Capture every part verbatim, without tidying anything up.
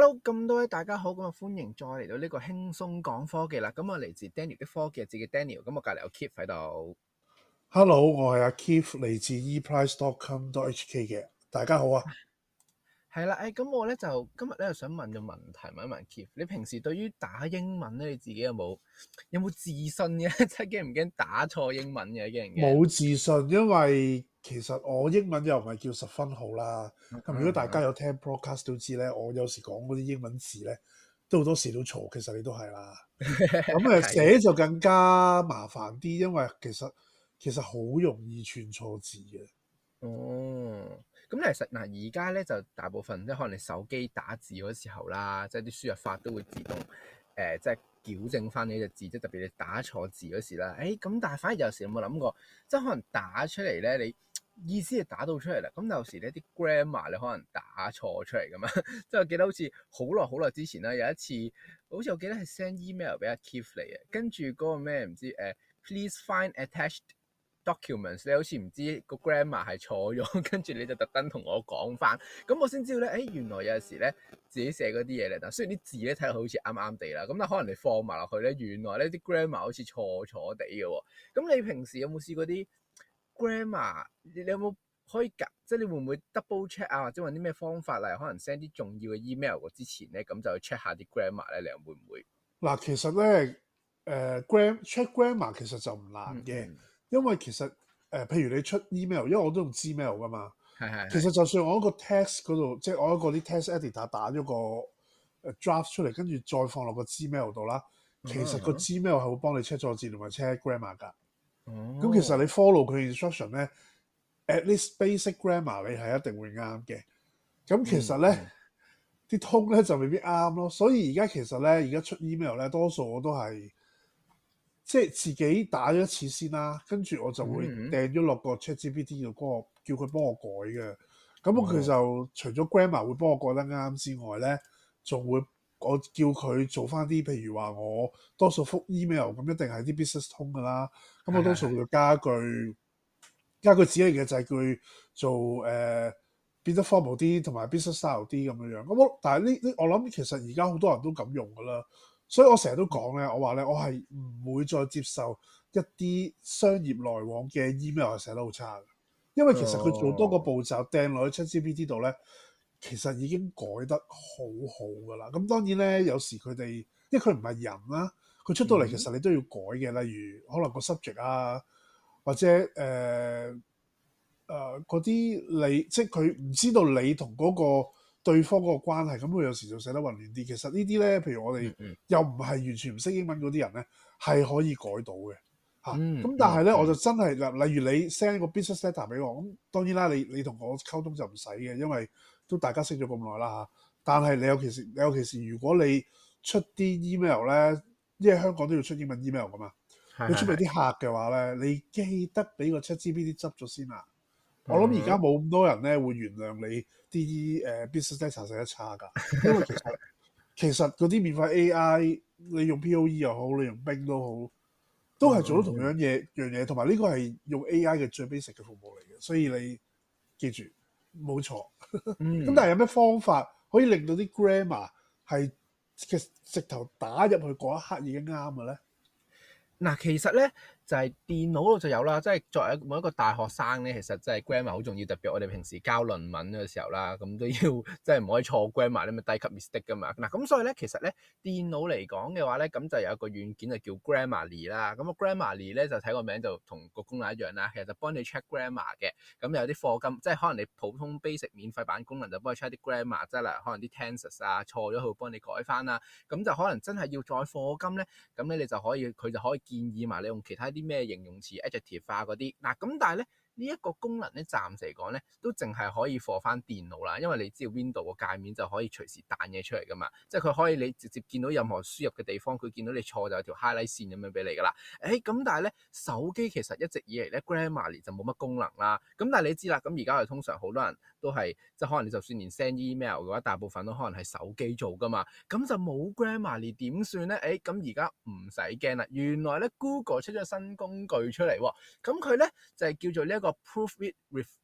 Hello，咁多位大家好，咁啊歡迎再嚟到呢個輕鬆講科技啦。咁我嚟自 Daniel 的科技，自己 Daniel。咁我隔籬有 Keith 喺度。 Hello，我係阿 Keith，嚟自 e price dot com dot h k 嘅。大家好啊。 係啦，誒，咁我咧就今日咧就想問個問題，問一問 Keith，你平時對於打英文咧，你自己有冇有冇自信嘅？即係驚唔驚打錯英文嘅？驚唔驚？ 冇自信，因為其實我英文又唔係叫十分好啦。咁如果大家有聽 broadcast 都知咧，我有時講嗰啲英文字咧，都好多時都錯。其實你都係啦。咁誒寫就更加麻煩啲，因為其實其實好容易串錯字嘅。 哦，咁其實嗱，而家咧就大部分即係可能你手機打字嗰時候啦，即係啲輸入法都會自動誒、呃，即係矯正翻呢隻字，即係特別你打錯字嗰時啦。誒、欸，咁但係反而有時有冇諗過，即係可能打出嚟咧，你意思係打到出嚟啦，咁有時呢啲 grammar 你可能打錯出嚟噶嘛。即係我記得好似好耐好耐之前啦，有一次好似我記得係 send email 俾阿 Keith 嚟嘅，跟住嗰個咩唔知誒、呃、please find attached documents 你好似唔知個 grammar 係錯咗，跟住你就特登同我講翻，咁我先知道咧，誒、欸、原來有陣時咧自己寫嗰啲嘢咧，但雖然啲字咧睇落好似啱啱地啦，咁但可能你放埋落去咧，原來咧啲 grammar 好似錯錯地嘅喎。咁你平時有冇試過啲 grammar？你有冇可以夾？即係你會唔會 double check 啊？或者揾啲咩方法，例如可能 send 啲重要嘅 email 過之前咧，咁就去 check 下啲 grammar 咧，你又會唔會？ 嗱，其實咧，誒、呃、gram check grammar 其實就唔難嘅。嗯嗯因為其實誒、呃，譬如你出 email，因為我都用 Gmail 噶嘛， 係係係其實就算我一個 text 嗰度，即係我一個啲 text editor 打咗個誒 draft 出嚟，跟住再放落個 Gmail 度啦，其實個 Gmail 係會幫你 check 錯字同埋 check grammar 㗎。咁、哦、其實你 follow 佢 instruction 咧 ，at least basic grammar 你係一定會啱嘅。咁其實咧，啲、嗯嗯、通咧就未必啱咯。所以而家其實咧，而家出 email 咧，多數我都係。即係自己打咗一次先啦，跟住我就會掟咗落個 ChatGPT 度，嗰個叫佢幫我改嘅。咁佢就除咗 grammar 會幫我改得啱之外咧，仲會我叫佢做翻啲，譬如話我多數覆 email 咁一定係啲 business 通噶啦。咁我多數會加句加句指令嘅就係佢做誒、呃、變得 formal 啲，同埋 business style 啲咁樣樣。咁我但係呢呢，我諗其實而家好多人都咁用噶啦。所以我成日都講咧，我話咧，我係唔會再接受一啲商業來往嘅 email 係寫得好差嘅，因為其實佢做多個步驟掟落去 ChatGPT 度咧，其實已經改得好好噶啦。咁當然咧，有時佢哋，因為佢唔係人啦，佢出到嚟其實你都要改嘅。例如可能個 subject 啊，或者誒誒嗰啲你，即係佢唔知道你同嗰個對方嗰個關係，咁佢有時就寫得混亂啲。其實呢啲咧，譬如我哋又唔係完全唔識英文嗰啲人咧，係可以改到嘅嚇。咁、 嗯嗯、 但係咧， 嗯、 我就真係嗱，例如你 send 個 business letter 俾我，咁當然啦，你你同我溝通就唔使嘅，因為都大家識咗咁耐啦嚇。但係你有其時，你有其時，如果你出啲 email 咧，因為香港都要出英文 email 噶嘛，是是是你出俾啲客嘅話咧，你記得俾個 ChatGPT 執咗先啦。我諗而家冇咁多人咧會原諒你啲誒 business data 寫得差㗎，因為其實其實嗰啲免費 A I 你用 P O E 又好，你用 Bing 都好，都係做到同樣嘢樣嘢，同埋呢個係用 A I 嘅最 basic 嘅服務嚟嘅，所以你記住冇錯。咁、嗯、但係有咩方法可以令到啲 grammar 係嘅直頭打入去嗰一刻已經啱嘅咧？ 嗱，其實咧就係、是、電腦度就有啦，即係作為每一個大學生咧，其實真係 grammar 好重要，特別我哋平時交論文嘅時候啦，咁都要即係唔可以錯 grammar，你咪低級 mistake 噶嘛。嗱，咁所以咧，其實咧電腦嚟講嘅話咧，咁就有一個軟件就叫 Grammarly 啦。咁個 Grammarly 咧就睇個名就同個功能一樣啦，其實就幫你 check grammar 嘅。咁有啲課金，即係可能你普通 basic 免費版功能就幫你 check 啲 grammar，即係例如可能啲 tenses 啊錯咗，佢會幫你改翻啦。咁就可能真係要再課金咧，咁咧你就可以佢就可以建議埋你用其他啲咩形容詞 adjective 化嗰啲，嗱咁但係咧呢一個功能咧暫時嚟講咧都淨係可以放翻電腦啦，因為你知道 Windows 個界面就可以隨時彈嘢出嚟噶嘛，即係佢可以你直接見到任何輸入嘅地方，佢見到你錯就有條 highlight 線咁樣俾你噶啦。誒咁但係咧手機其實一直以嚟咧 Grammarly 就冇乜功能啦，咁但係你知啦，咁而家我哋通常好多人都係即係可能你就算連 send email 嘅話，大部分都可能係手機做噶嘛，咁就冇 Grammarly點算咧？誒咁而家唔使驚啦，原來咧 Google 出咗新工具出嚟喎，咁佢咧就係、是、叫做呢一個 Proof It with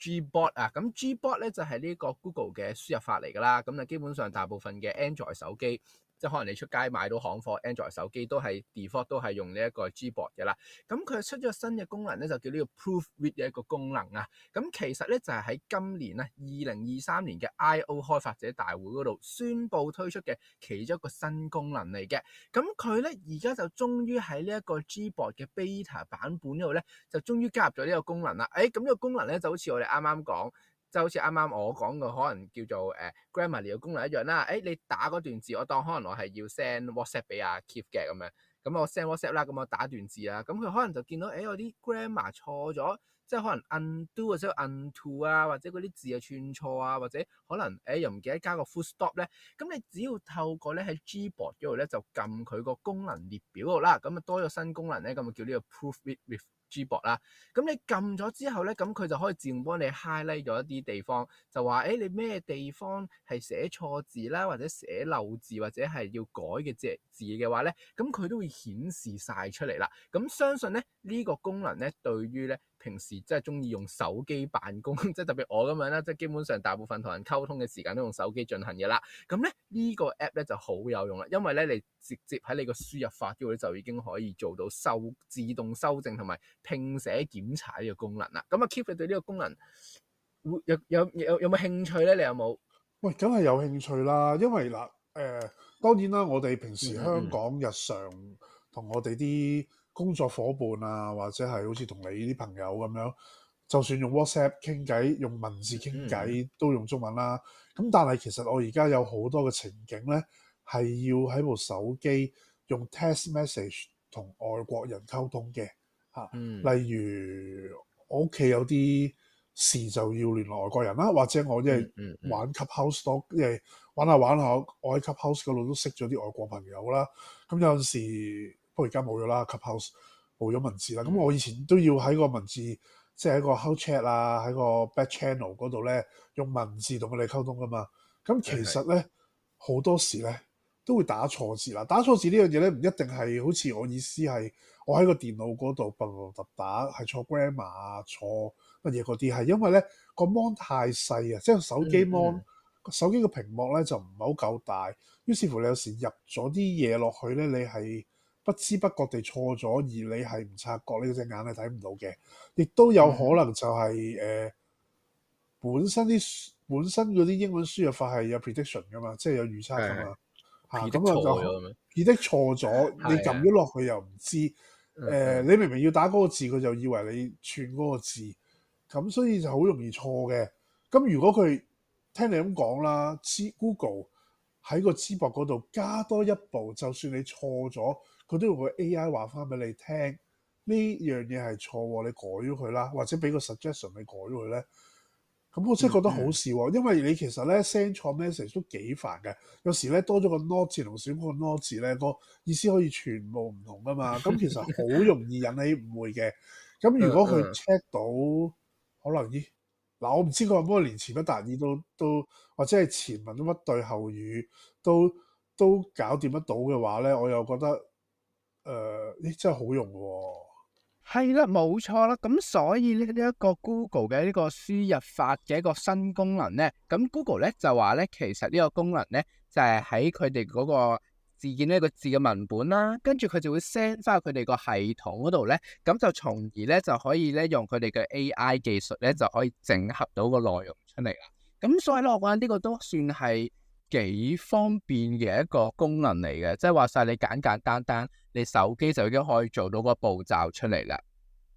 Gboard 啊，咁 Gboard 咧就係呢個 Google 嘅輸入法嚟㗎啦。咁啊，基本上大部分嘅 Android 手機，即係可能你出街買到行貨 Android 手機都係 default 都係用呢一個 Gboard 嘅啦。咁佢出咗新嘅功能咧，就叫呢個 Proofread 嘅一個功能啊。咁其實咧就係喺今年啊，二零二三年嘅 I O 開發者大會嗰度宣布推出嘅其中一個新功能嚟嘅。咁佢咧而家就終於喺呢一個 Gboard 嘅 beta 版本嗰度咧，就終於加入咗呢個功能啦。誒，咁呢個功能咧就好似我哋啱啱講。就好似啱啱我講嘅，可能叫做誒、uh, Grammarly 嘅功能一樣啦。誒、哎，你打嗰段字，我當可能我係要 send WhatsApp 俾阿 Keith 嘅咁樣，咁我 send WhatsApp 啦，咁我打段字啦，咁佢可能就見到誒、哎、我啲 grammar 錯咗，即係可能 undo 或者 undo 啊，或者嗰啲字啊串錯啊，或者可能誒、哎、又唔記得加個 full stop 咧，咁你只要透過咧喺 Gboard 嗰度咧就撳佢個功能列表度啦，咁啊多咗新功能咧，咁啊叫呢個 Proofread with Gboard 啦，咁你撳咗之後咧，咁佢就可以自動幫你 highlight 咗一啲地方，就話誒、欸、你咩地方係寫錯字啦，或者寫漏字，或者係要改嘅隻字嘅話咧，咁佢都會顯示晒出嚟啦。咁相信咧呢、這個功能咧，對於咧平時即係中意用手機辦公，即係特別我咁樣啦，即係基本上大部分同人溝通嘅時間都用手機進行嘅啦。咁咧呢、這個 app 咧就好有用啦，因為咧你直接喺你個輸入法嗰度就已經可以做到修自動修正同埋拼寫檢查呢個功能啦。咁啊 Keith 你對呢個功能會有有有有冇興趣咧？你有冇？ 喂，梗係有興趣啦，因為嗱誒、呃，當然啦，我哋平時香港日常同我哋啲工作伙伴啊，或者係好似同你啲朋友咁樣，就算用 WhatsApp 傾偈，用文字傾偈都用中文啦。咁但係其實我而家有好多嘅情景咧，係要喺部手機用 text message 同外國人溝通嘅嚇。 嗯、 例如我屋企有啲事就要聯絡外國人啦，或者我因為玩 Clubhouse 多，因為玩下玩下，我喺 Clubhouse 嗰度都識咗啲外國朋友啦。咁有陣時，不過而家冇咗啦 Clubhouse 冇咗文字啦。咁、嗯、我以前都要喺個文字，即係喺個 How Chat 啊，喺個 Back Channel 嗰度咧，用文字同佢哋溝通噶嘛。咁其實咧好多時咧都會打錯字啦。打錯字呢樣嘢咧，唔一定係好似我意思係我喺個電腦嗰度突突突打係錯 grammar 啊，錯乜嘢嗰啲，係因為咧個 mon 太細啊，即係手機 mon、嗯嗯、手機個屏幕咧就唔係好夠大，於是乎你有時入咗啲嘢落去咧，你係不知不覺地錯咗，而你係唔察覺，呢隻眼係睇唔到嘅。亦都有可能就係、是、誒、嗯呃、本身啲本身嗰啲英文輸入法係有 prediction 噶嘛，即係有預測噶嘛嚇，咁啊就 predict 錯咗，你撳咗落去又唔知誒、呃，你明明要打嗰個字，佢就以為你串嗰個字。咁所以就好容易錯嘅。咁如果佢聽你咁講啦，Google 喺個 Gboard 嗰度加多一步，就算你錯咗，佢都用個 A I 話翻俾你聽，呢樣嘢係錯，你改咗佢啦，或者俾個 suggestion 你改咗佢咧。咁我真係覺得好事喎，嗯嗯因為你其實咧 send 錯 message 都幾煩嘅。有時咧多咗個 not 字同少個 not 字咧，個意思可以全部唔同噶嘛。咁其實好容易引起誤會嘅。咁如果佢 check 到，嗯嗯可能咦嗱，我唔知佢有冇連前不達意都都，或者係前文都乜對後語都都搞掂得到嘅話咧，我又覺得誒，咦、呃、真係好用喎。 係啦，冇錯啦。咁所以呢呢一個 Google 嘅呢個輸入法嘅一個新功能咧，咁 Google 咧就話咧，其實呢個功能咧就係喺佢哋嗰個字件呢個字嘅文本啦，跟住佢就會 send 翻去佢哋個系統嗰度咧，咁就從而咧就可以咧用佢哋嘅 A I 技術咧就可以整合到個內容出嚟啦。咁所以咧，我覺得呢個都算係幾方便嘅一個功能嚟嘅，即係話晒你簡簡單單，你手機就已經可以做到個步驟出嚟啦。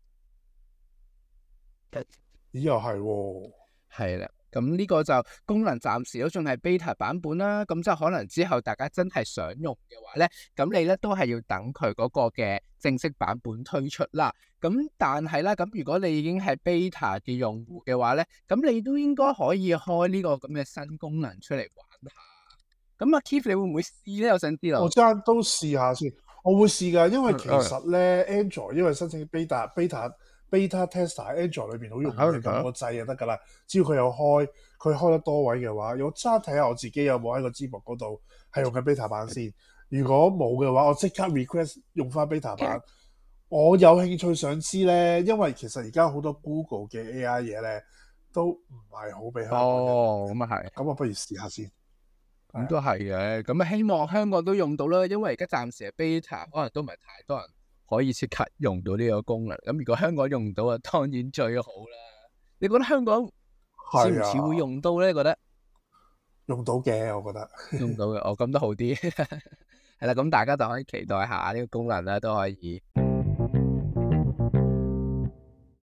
咦，又係喎， 係啦。咁呢個就功能暫時都仲係 beta 版本啦，咁就可能之後大家真係想用嘅話咧，咁你咧都係要等佢嗰個嘅正式版本推出啦。咁但係咧，咁如果你已經係 beta 嘅用戶嘅話咧，咁你都應該可以開呢個咁嘅新功能出嚟玩下。咁阿 Keith 你會唔會試咧？我想知道。 我爭都試下先，我會試㗎，因為其實咧、嗯、Android 因為申請 beta beta。Beta tester 喺 Android 裏邊好容易，撳個掣就得㗎啦。只要佢有開，佢開得多位嘅話，我揸睇下我自己有冇喺個 Gboard 嗰度係用緊 beta 版先。如果冇嘅話，我即刻 request 用翻 beta 版。我有興趣想知咧，因為其實而家好多 Google 嘅 A I 嘢咧， 都唔係好俾香港人。 哦，咁啊係。 咁我不如試下先。 咁都係嘅，咁啊希望香港都用到啦，因為而家暫時係 beta，可能都唔係太多人可以即刻用到呢個功能。咁如果香港用到啊，當然最好啦。你覺得香港似唔似會用到咧？覺得用到嘅，我覺得用到嘅，哦咁都好啲。係啦，咁大家就可以期待下呢個功能啦，都可以。